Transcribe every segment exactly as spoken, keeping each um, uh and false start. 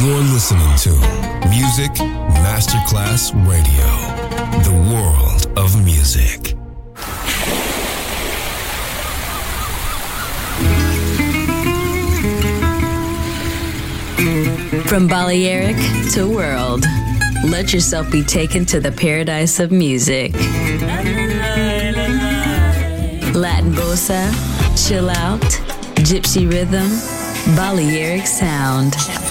You're listening to Music Masterclass Radio, the world of music. From Balearic to world, let yourself be taken to the paradise of music. Latin bossa, chill out, gypsy rhythm, Balearic sound,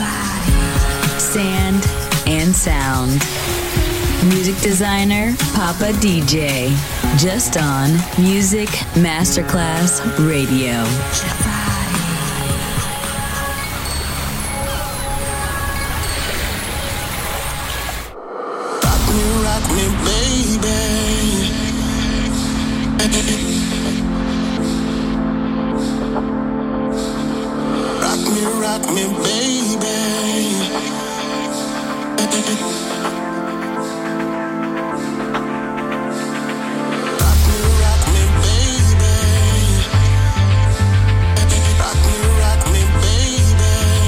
sand and sound. Music designer, Papa D J, just on Music Masterclass Radio. Rock me, baby. Rock me, rock me, baby. Rock me, rock me, baby. Rock me, rock me, baby.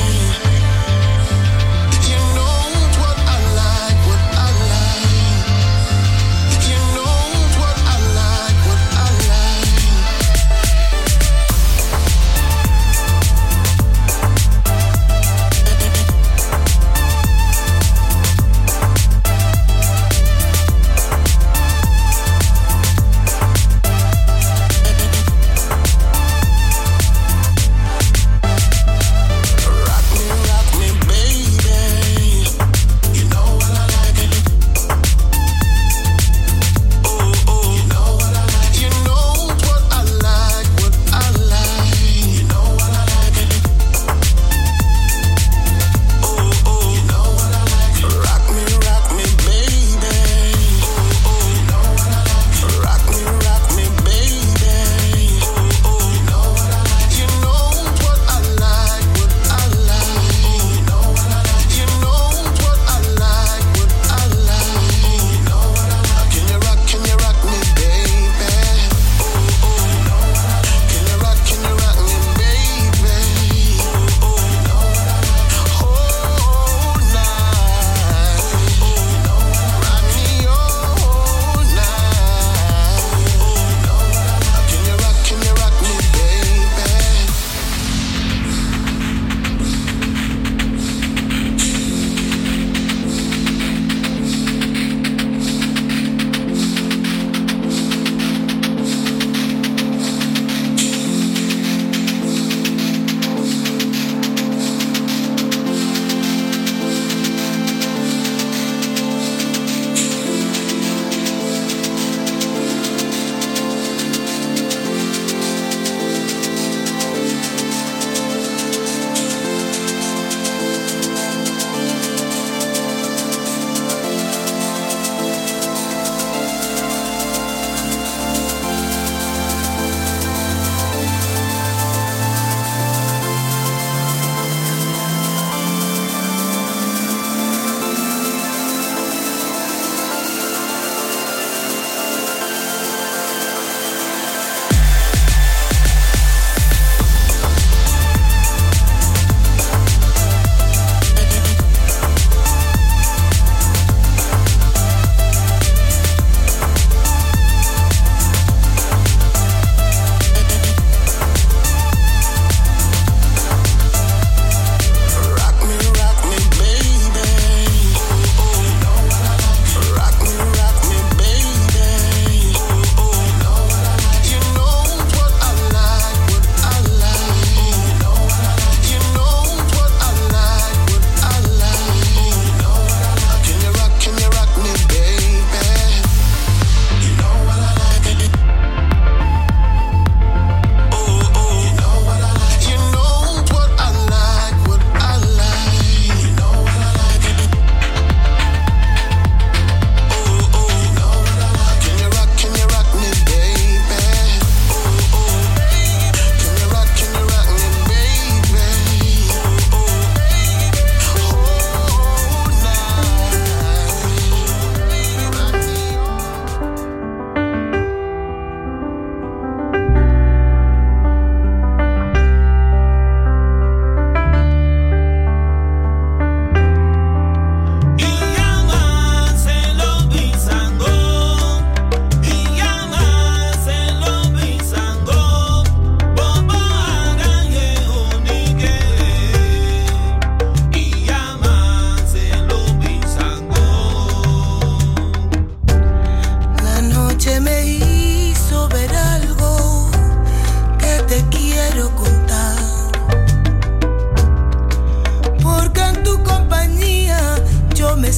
You know what I like, what I like. You know what I like, what I like.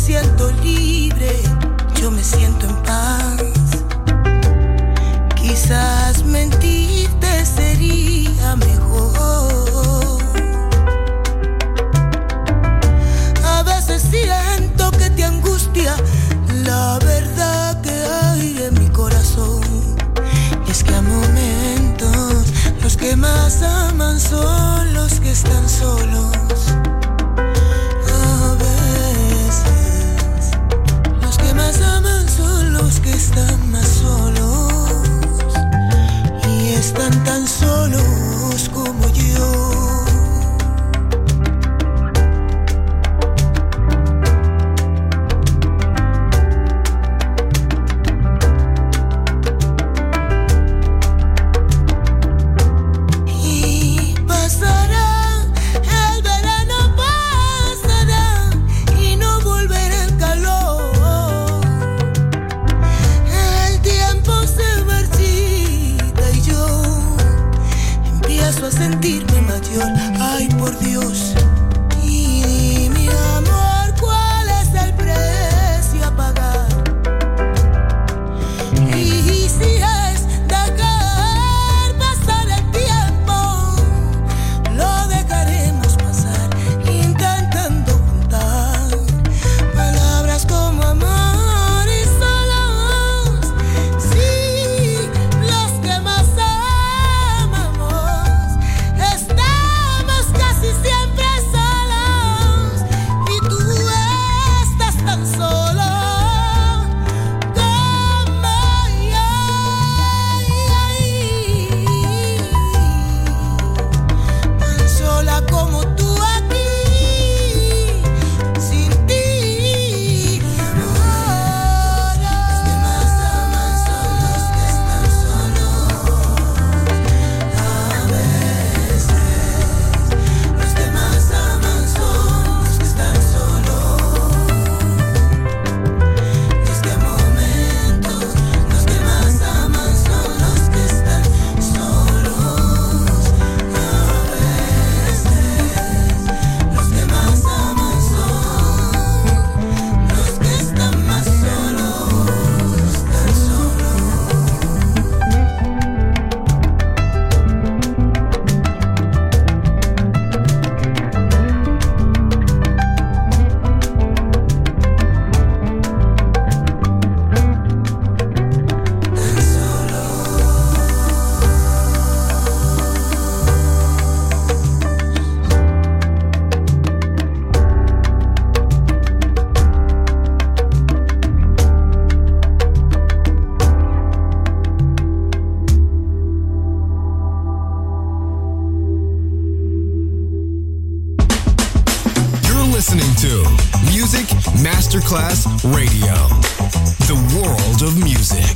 siento libre, yo me siento en paz. Quizás mentirte sería mejor. A veces siento que te angustia la verdad que hay en mi corazón. Es que a momentos los que más aman son los que están solos. A veces los que más aman son los que están más solos. Y están tan solos como yo. A sentirme mayor, ay por Dios. Y mi amor, ¿cuál es el precio a pagar? Y si es dejar pasar el tiempo, lo dejaremos pasar, intentando juntar palabras como amor y solos. Sí, los que más casi siempre solos, y tú estás tan solo como yo, tan sola como tú aquí, sin ti. Ahora los que más aman son los que están solos. A veces los que más aman son los que están solos. Es que a momentos los que más aman son los que están solos. A veces los que más aman son los que están más solos, tan solos. You're listening to Music Masterclass Radio, the world of music.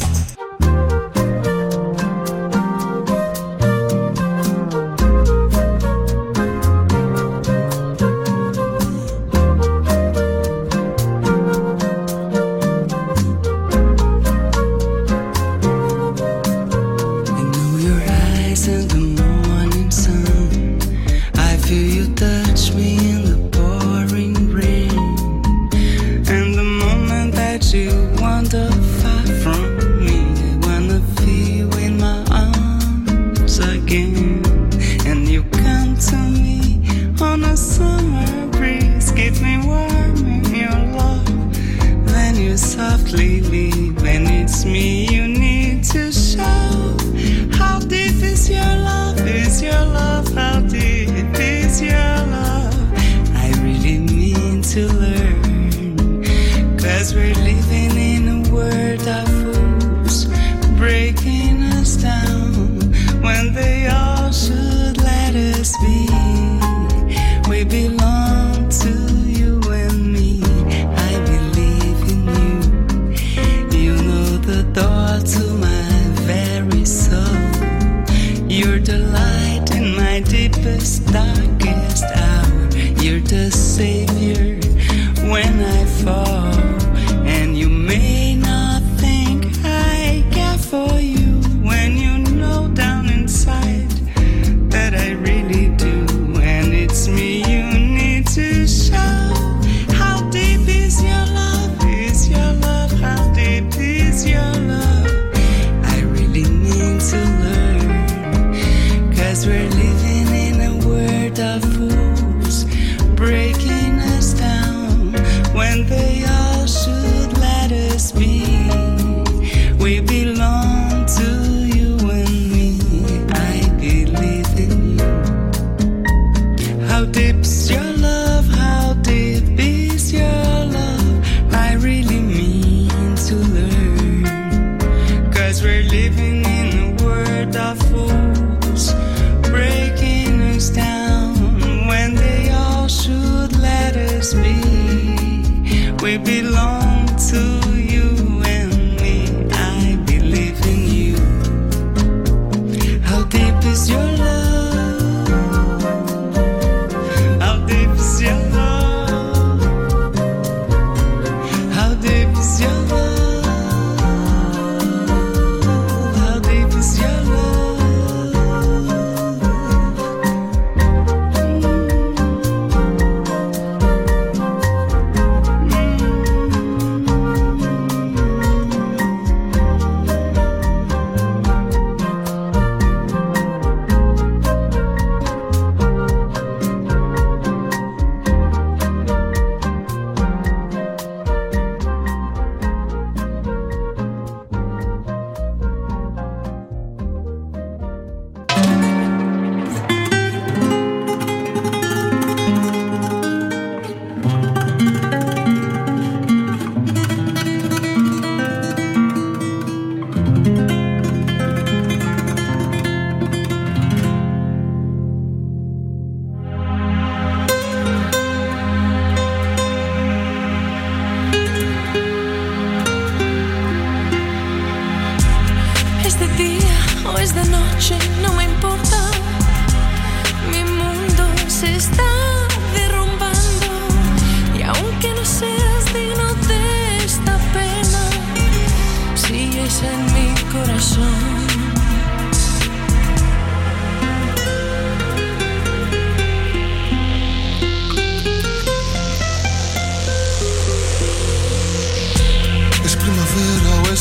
I know your eyes in the morning sun. I feel you touch me in the pouring rain. And the moment that you wander far from me, I wanna feel you in my arms again. And you come to me on a summer breeze, keep me warm in your love. Then you softly leave, and it's me you need to show. How deep is your love? Is your love? How deep is your love? I really mean to learn, 'cause we're living in a world of fools, breaking us down when they all should let us be. We belong to you and me. I believe in you. You know the door to my very soul. You're the light in my deepest, darkest hour. You're the savior when I fall. And you may not think I care for you when you know down inside that I really do. And it's me you need to show. How deep is your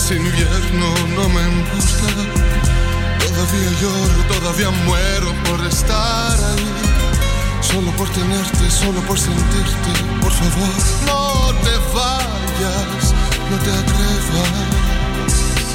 es invierno, no me importa. Todavía lloro, todavía muero por estar ahí. Solo por tenerte, solo por sentirte. Por favor, no te vayas, no te atrevas.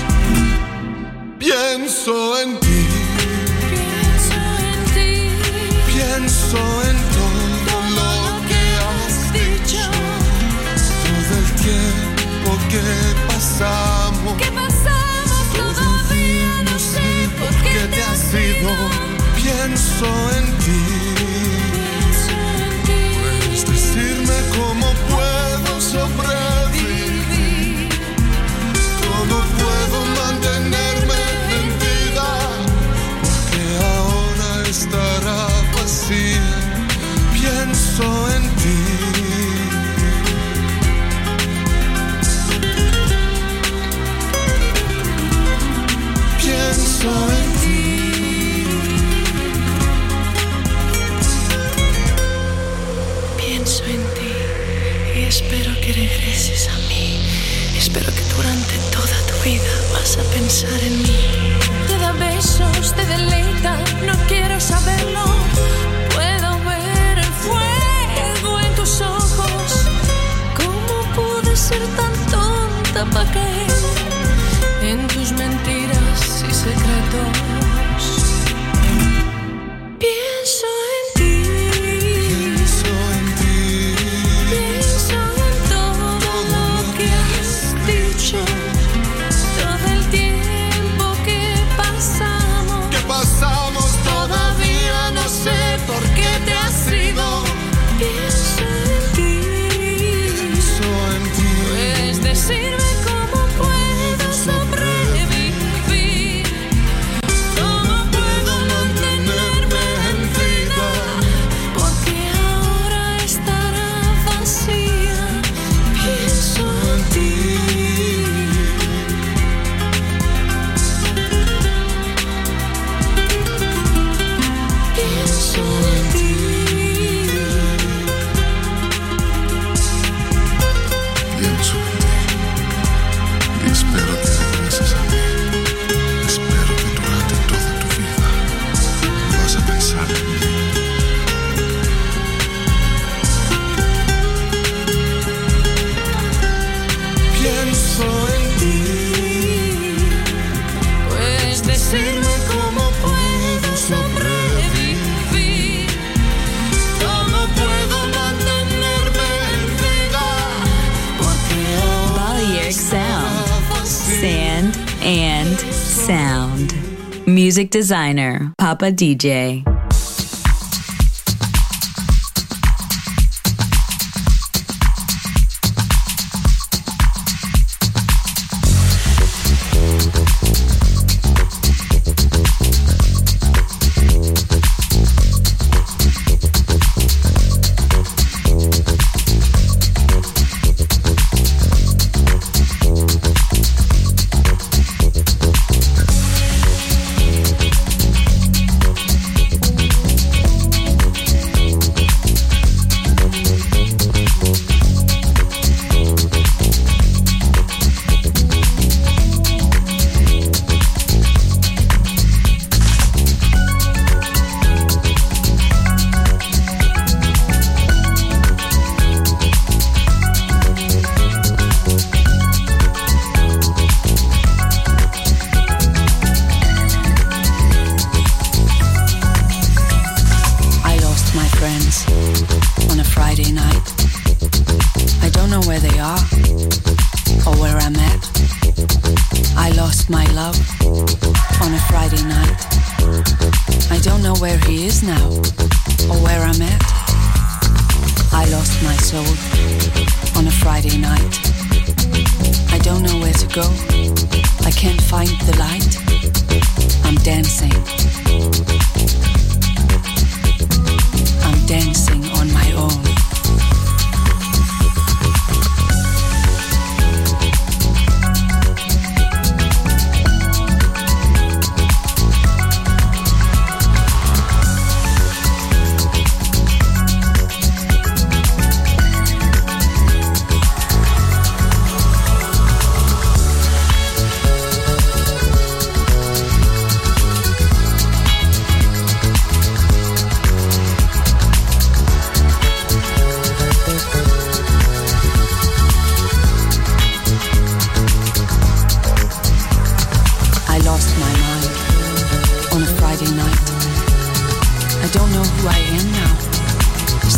Pienso en ti, Pienso en ti, pienso en todo lo que has dicho. Todo el tiempo que pasamos, ¿qué pasamos? Todavía no sé por qué te has ido. pienso en ti. Pienso en ti, Puedes decirme cómo puedo sobrevivir, cómo puedo mantenerme en vida, porque ahora estará vacía. Pienso en ti. Pienso en ti. Pienso en ti y espero que regreses a mí. Espero que durante toda tu vida vas a pensar en mí. te da besos, te deleita, no quiero saberlo. Puedo ver el fuego en tus ojos. ¿Cómo pude ser tan tonta para caer en tus mentiras y secretos? Pienso en ti, Pienso en ti. pienso en todo lo que has dicho, todo el tiempo que pasamos. ¿Qué pasamos? Todavía no sé por qué te has ido. Pienso en ti, Pienso en ti. puedes decirme cómo puedo sobrevivir, cómo puedo mantenerme en vida, porque ahora estará vacía. Pienso en ti. Pienso en ti. Pienso en ti y espero que regreses a mí. Espero que durante toda tu vida vas a pensar en mí. Pienso en ti. Puedes decirme cómo puedo sobrevivir, ¿Cómo puedo mantenerme en vida? Porque ahora Balearic Sound. estará vacía. Sand and Sound. Music designer, Papa D J. I lost my friends on a Friday night. I don't know where they are or where I'm at. I lost my love on a Friday night. I don't know where he is now or where I'm at. I lost my soul on a Friday night. I don't know where to go. I can't find the light. I'm dancing. I'm dancing on my own.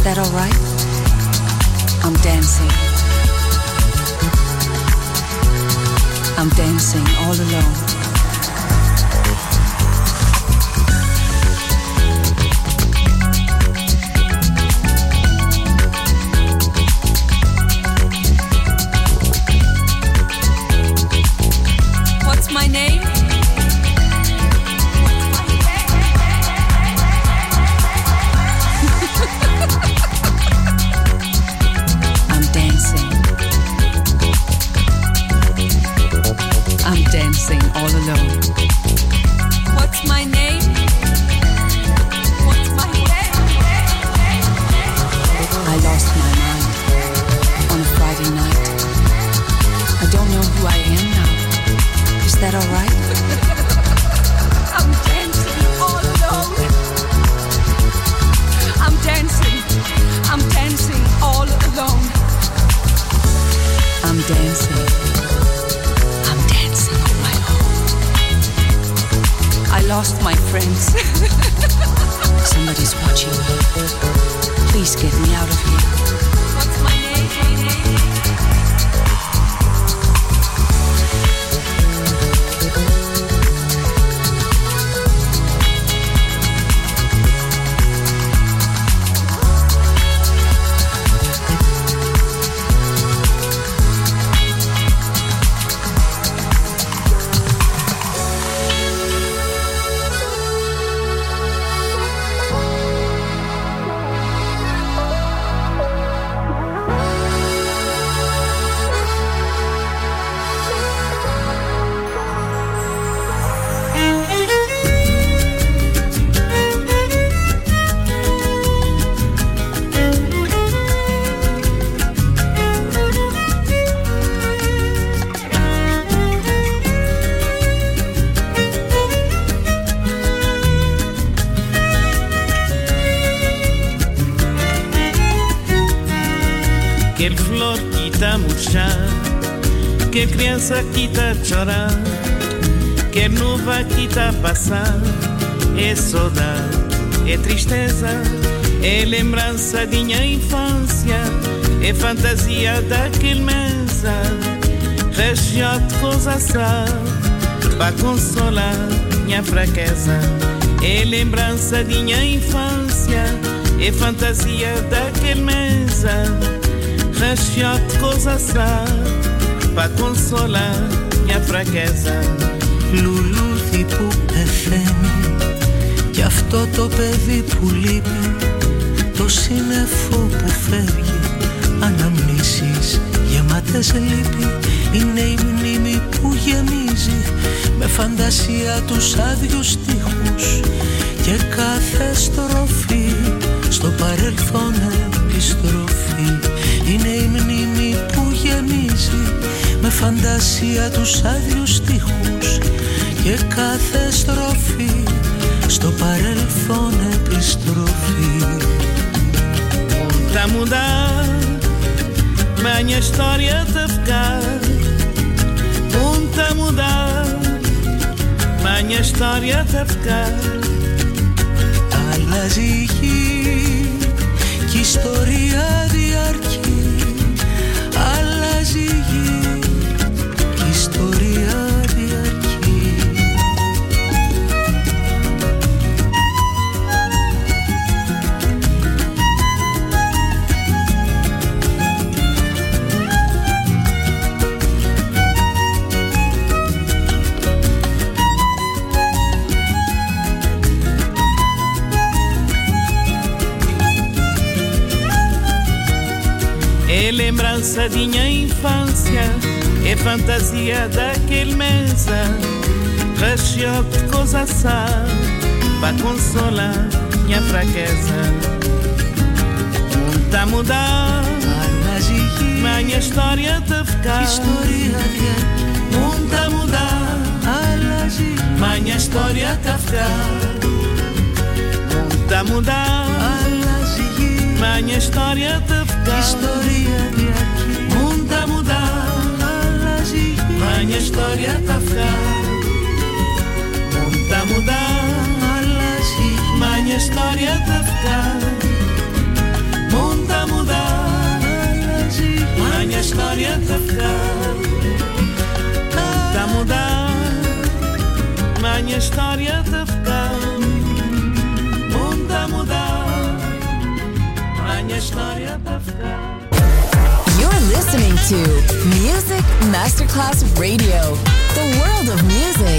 that all right? I'm dancing. I'm dancing all alone. What's my name? I'm dancing. I'm dancing all alone. What's my name? What's my name? I lost my mind on a Friday night. I don't know who I am now. Is that all right? I'm dancing all alone. I'm dancing. I'm dancing all alone. I'm dancing. I'm dancing on my own. I lost my friends. Somebody's watching me. Please get me out of here. What's my name? Quer flor que tá a murchar, quer criança que tá a chorar, quer nuvem que tá a passar. É saudade, é tristeza, é lembrança de minha infância, é fantasia daquele mesa, região de coisa sal, pra consolar minha fraqueza. É lembrança de minha infância, é fantasia daquele mesa, região de coisa sal, pra consolar minha fraqueza. Λουλούδι που πεθαίνει κι αυτό το παιδί που λείπει, το σύννεφο που φεύγει, αναμνήσεις γεμάτες λύπη. Είναι η μνήμη που γεμίζει με φαντασία τους άδειους στίχους και κάθε στροφή στο παρελθόν επιστροφή. Είναι η μνήμη που γεμίζει με φαντασία τους άδειους στίχους και κάθε στροφή στο παρελθόν επιστροφή. Tá mudar, minha história tá ficar. Tá mudar, minha história tá ficar. Αλλάζει η γη κι η ιστορία διαρκεί. Αλλάζει η γη κι η ιστορία διαρκεί. É lembrança de minha infância, é fantasia daquele mesa, região de coisa sal, pra consolar minha fraqueza. Mundo tá a mudar, minha história tá a ficar. Mundo tá a mudar, minha história tá a ficar. Mundo tá a mudar, minha história tá a ficar. Mundo tá a mudar, minha história tá a ficar. Mundo tá a mudar, minha história tá a ficar. história tá ficar, tá mudar. Minha história tá ficar, mundo tá mudar. Minha história tá ficar. You're listening to Music Masterclass Radio, the world of music.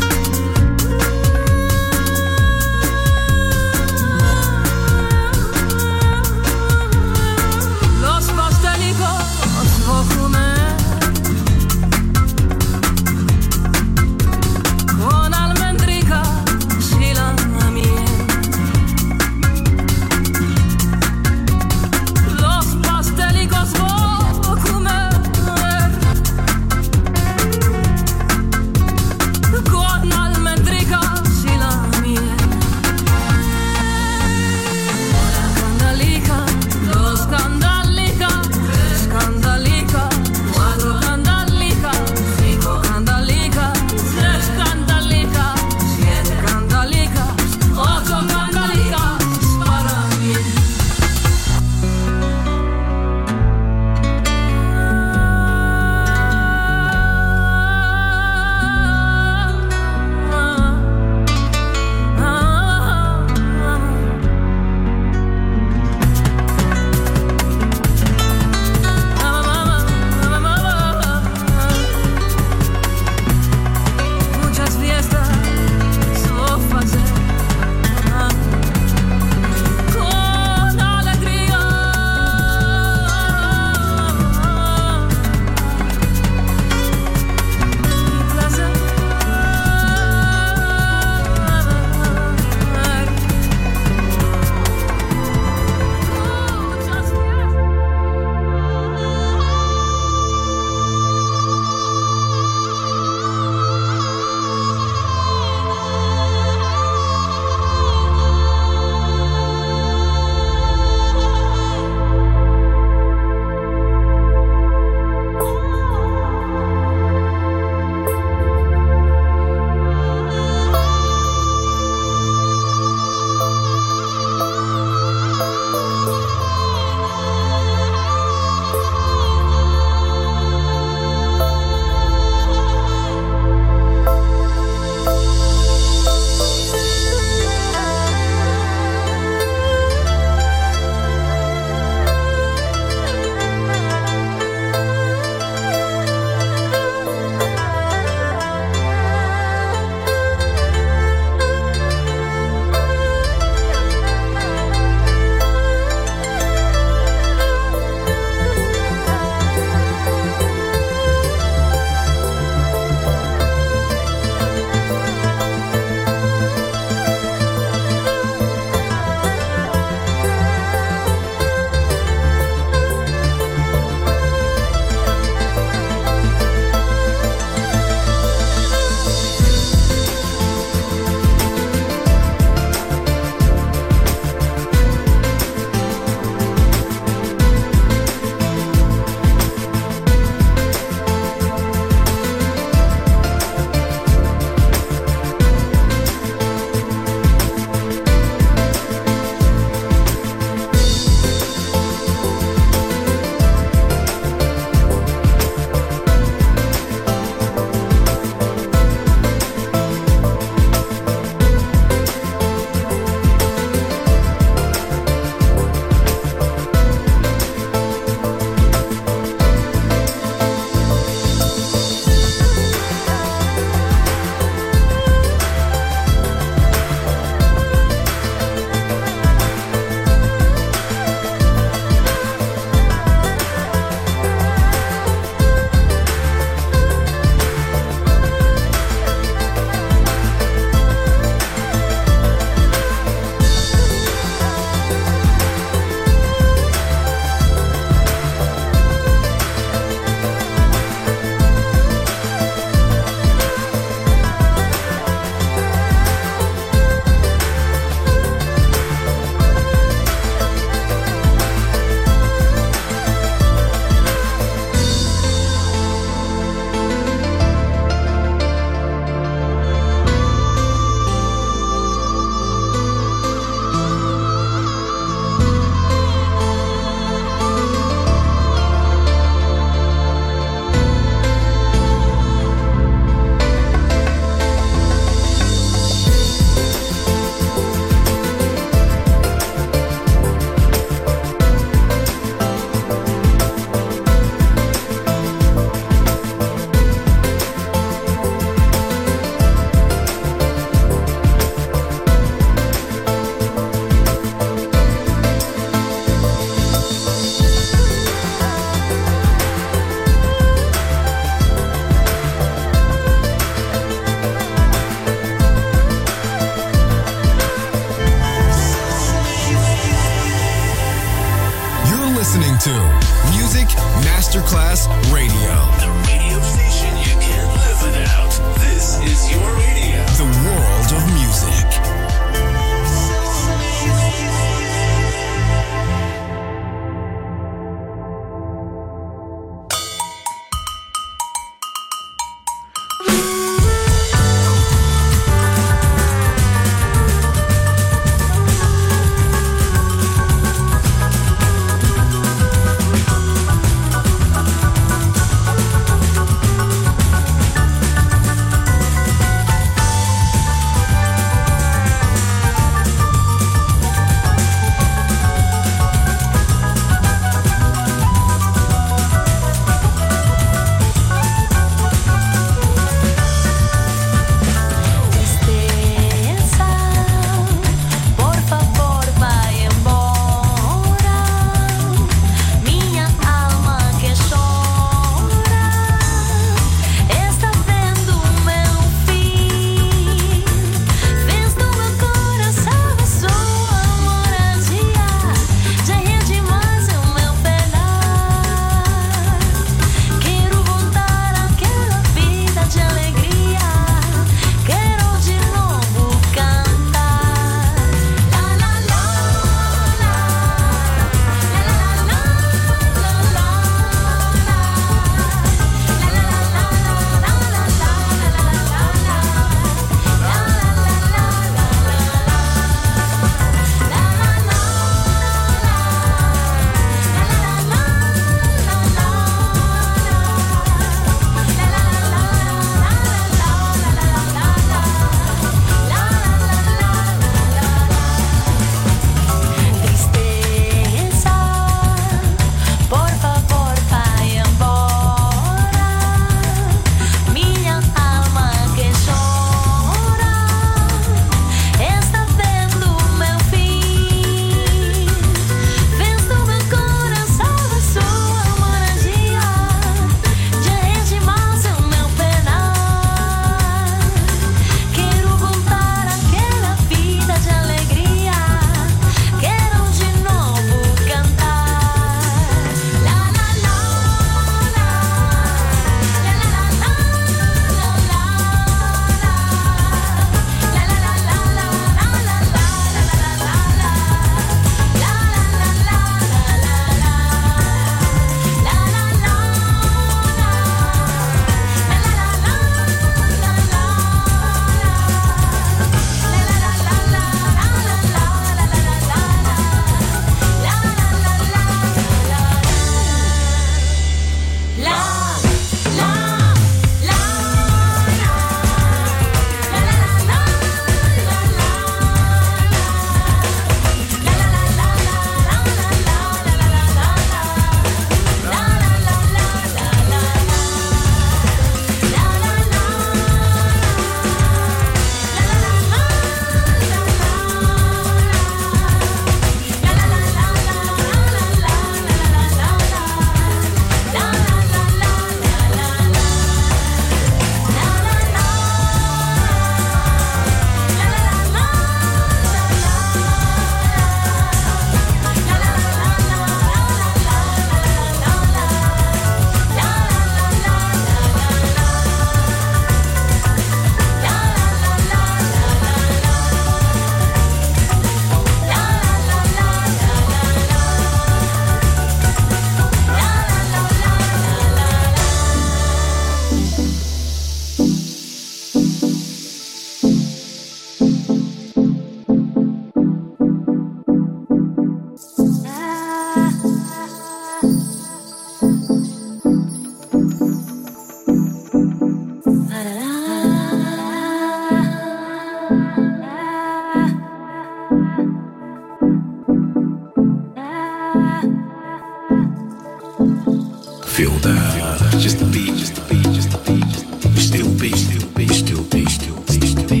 Feel that, just the beat, just the beat, just the beat, just the beat. Still beat, still beat, still beat, still beat, still beat.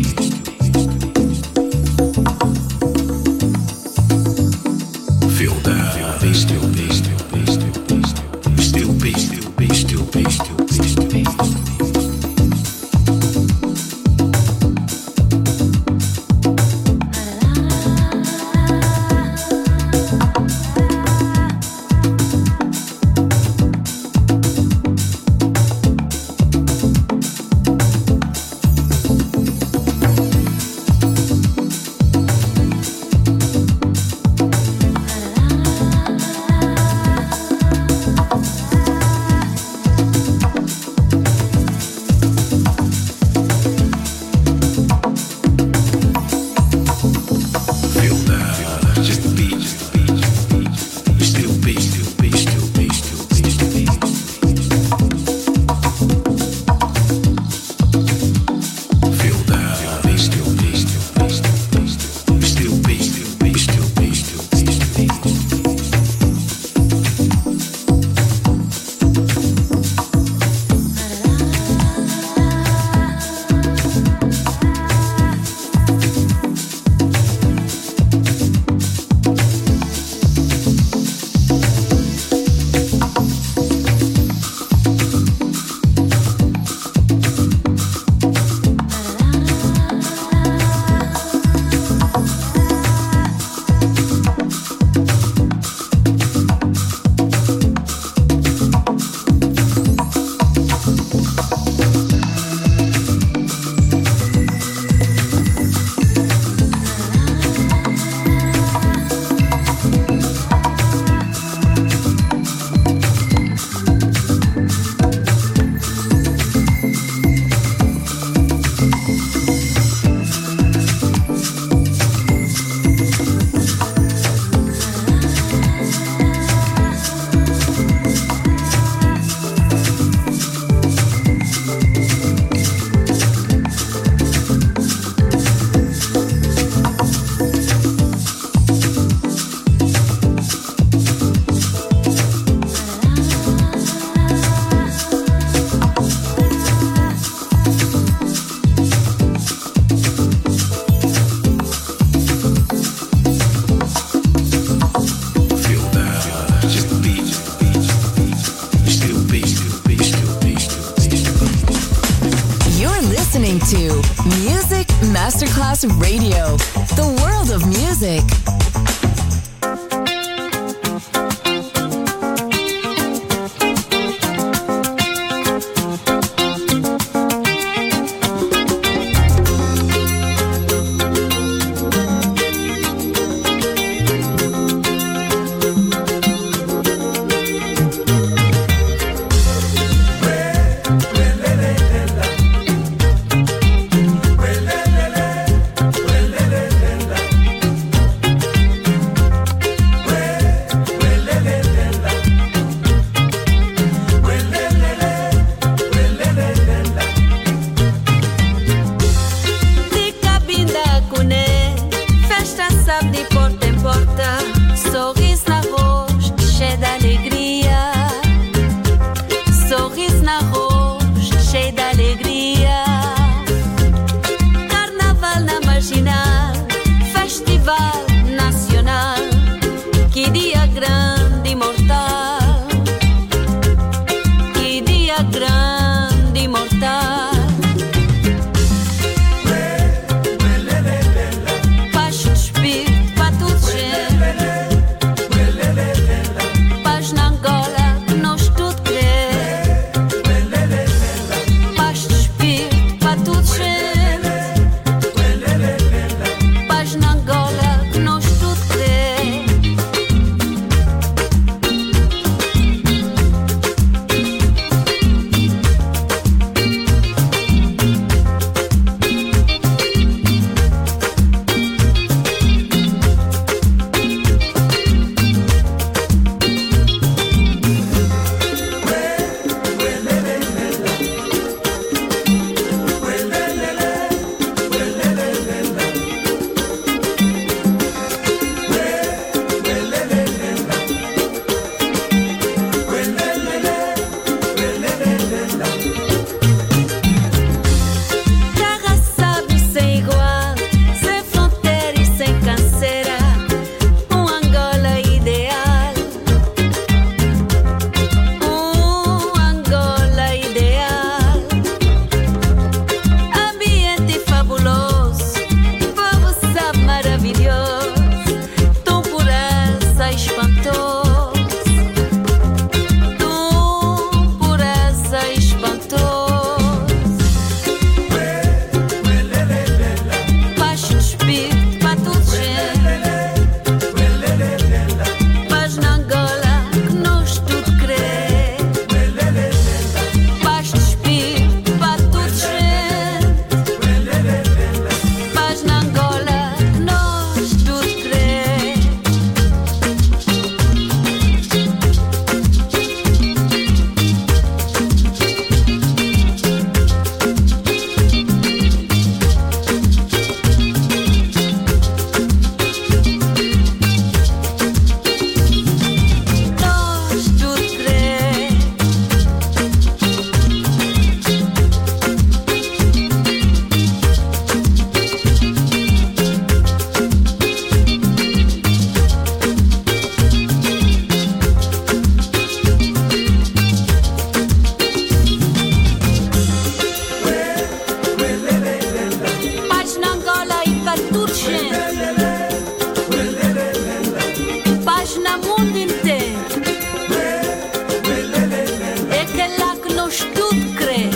Feel that, beat, still beat, still beat, still beat, still beat. Still beat, still beat, still beat, still beat, still beat. Masterclass Radio, the world of music. Paixão de espírito, para tudo, gente. Paz na mundo inteiro. É que lá que nós tudo crê.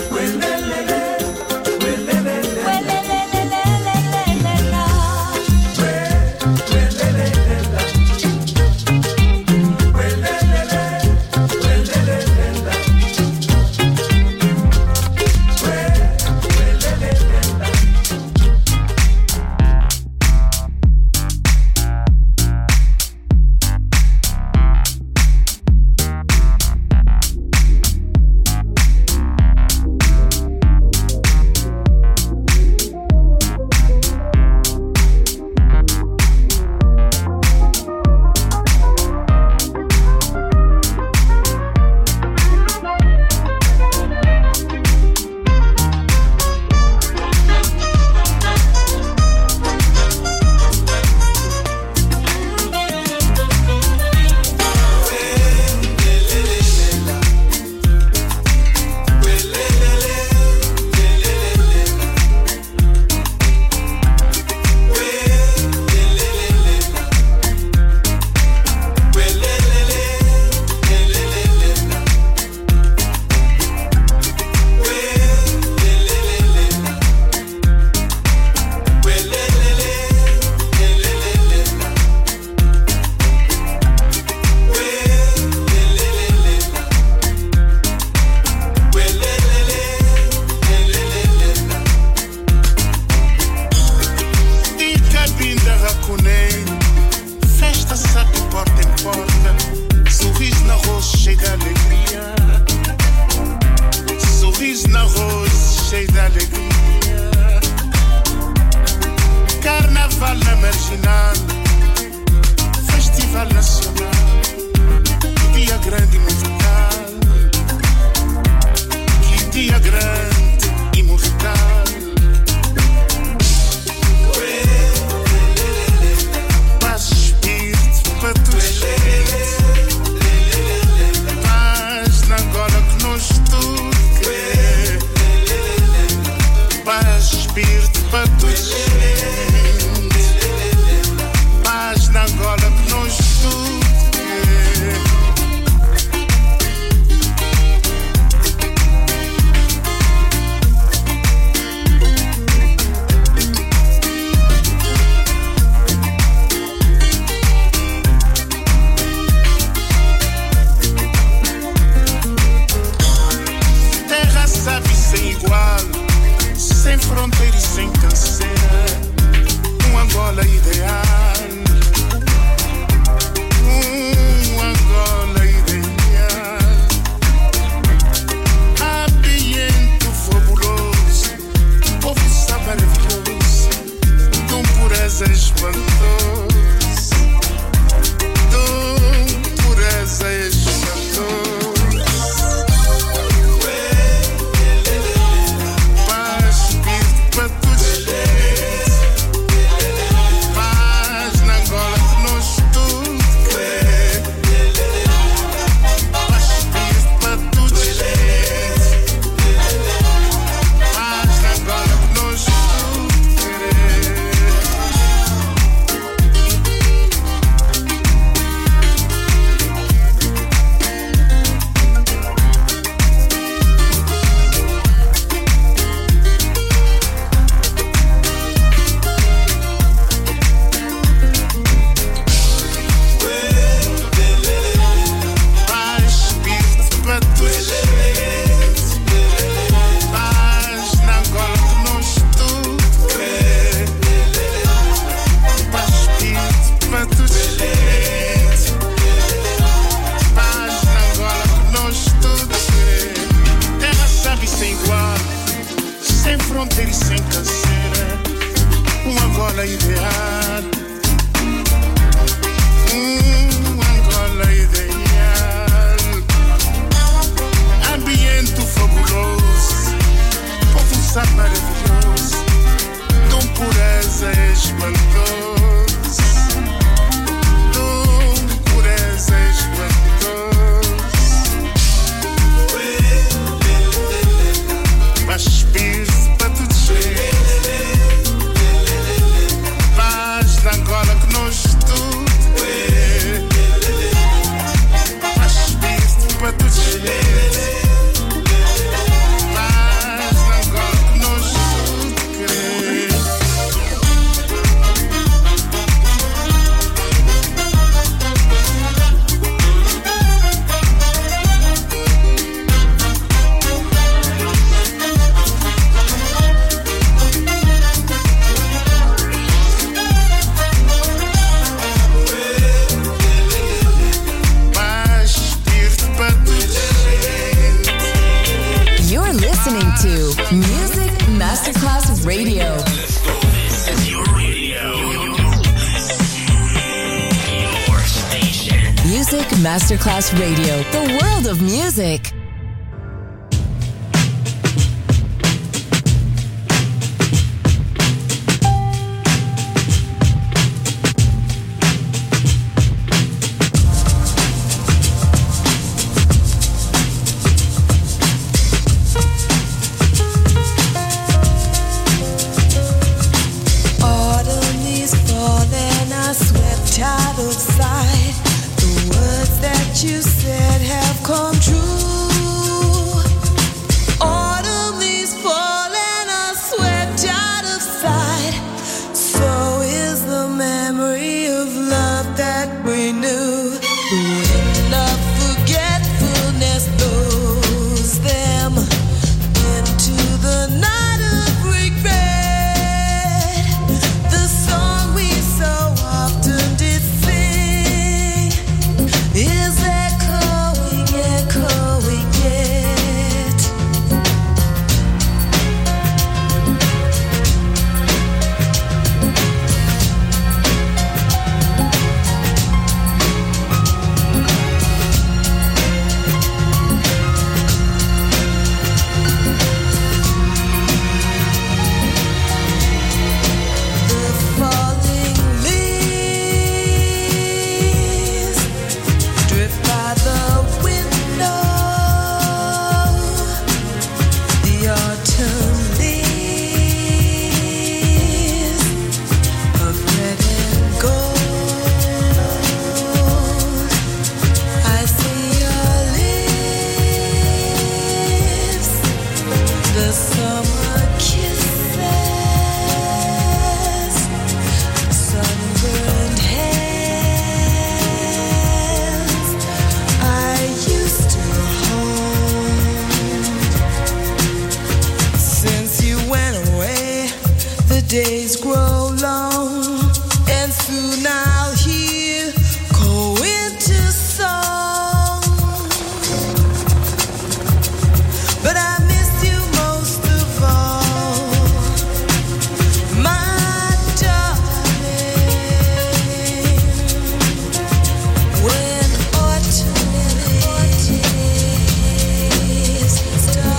Masterclass Radio, the world of music.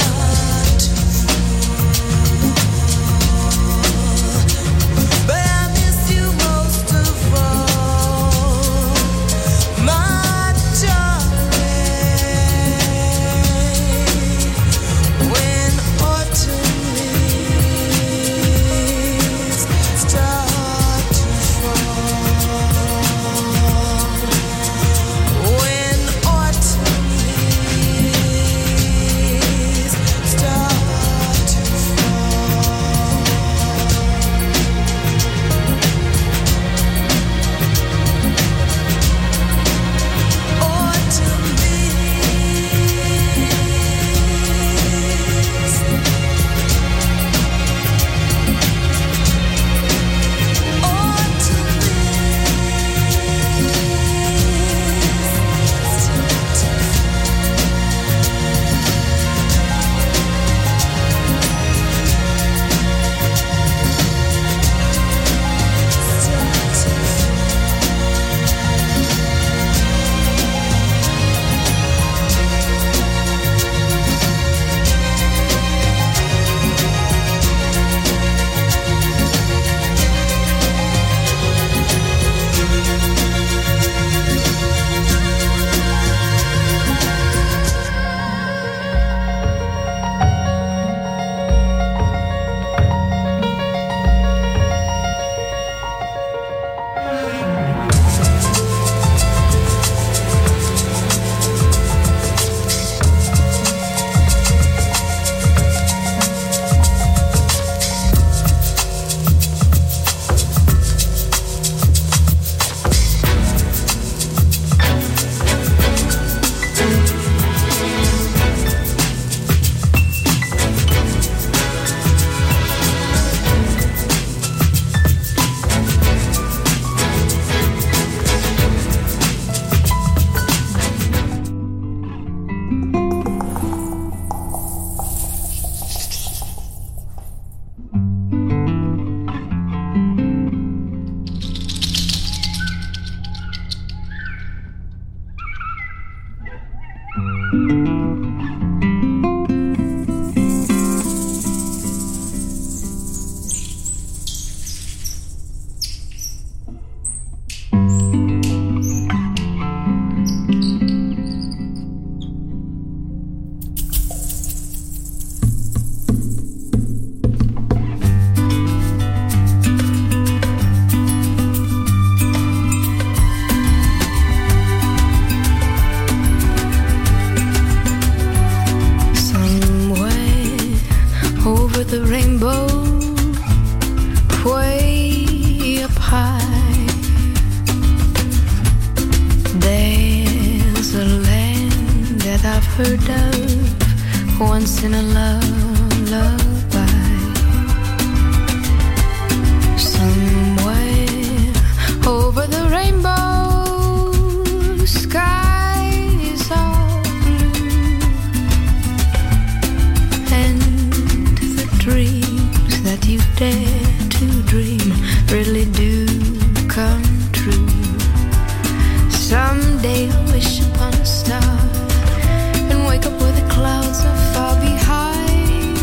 But I'm heard of once in a love, lullaby. Somewhere over the rainbow, skies are blue, and the dreams that you dare to dream really do come true. Someday I'll wish upon a star and wake up where the clouds are far behind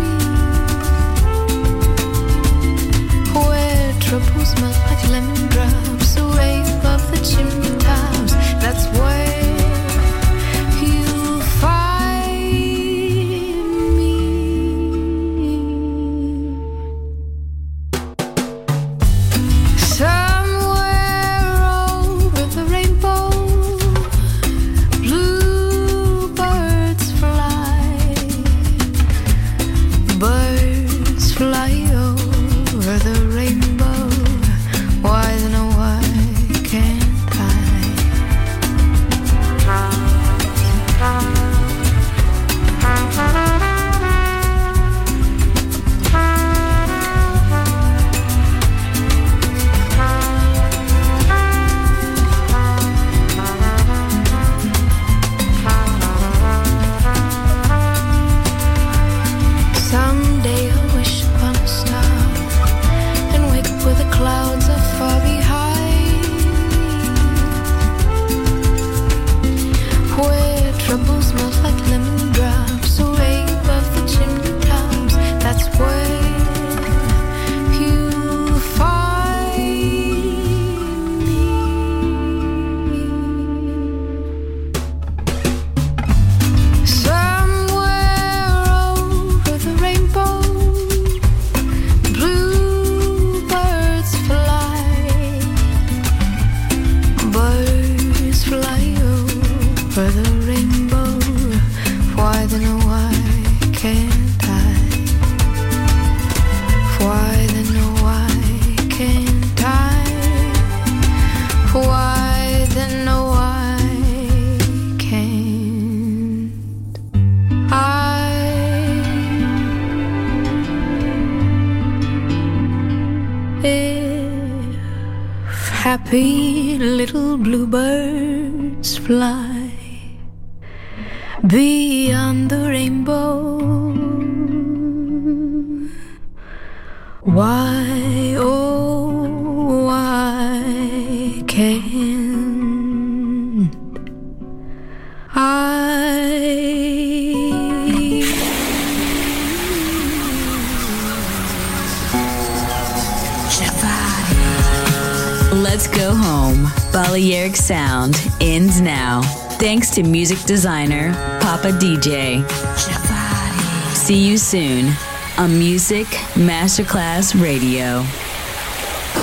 me, where troubles melt like lemon drops away above the chimney tops. That's where you'll find me. Somewhere over the rainbow, bluebirds fly, birds fly over the rainbow. Why then oh why can't I? Someday I'll wish upon a star and wake up where the clouds are far behind me, where troubles melt like lemon drops away above the chimney tops. That's where you'll find me. Somewhere over the rainbow, bluebirds fly, birds fly over the rainbow. Why then oh why can't I? Why then oh why can't I? Why then oh why can't I? If happy little bluebirds fly beyond the rainbow, why, oh, why can't I? Let's go home. Balearic Sound ends now. Thanks to music designer Papa D J. See you soon on Music Masterclass Radio.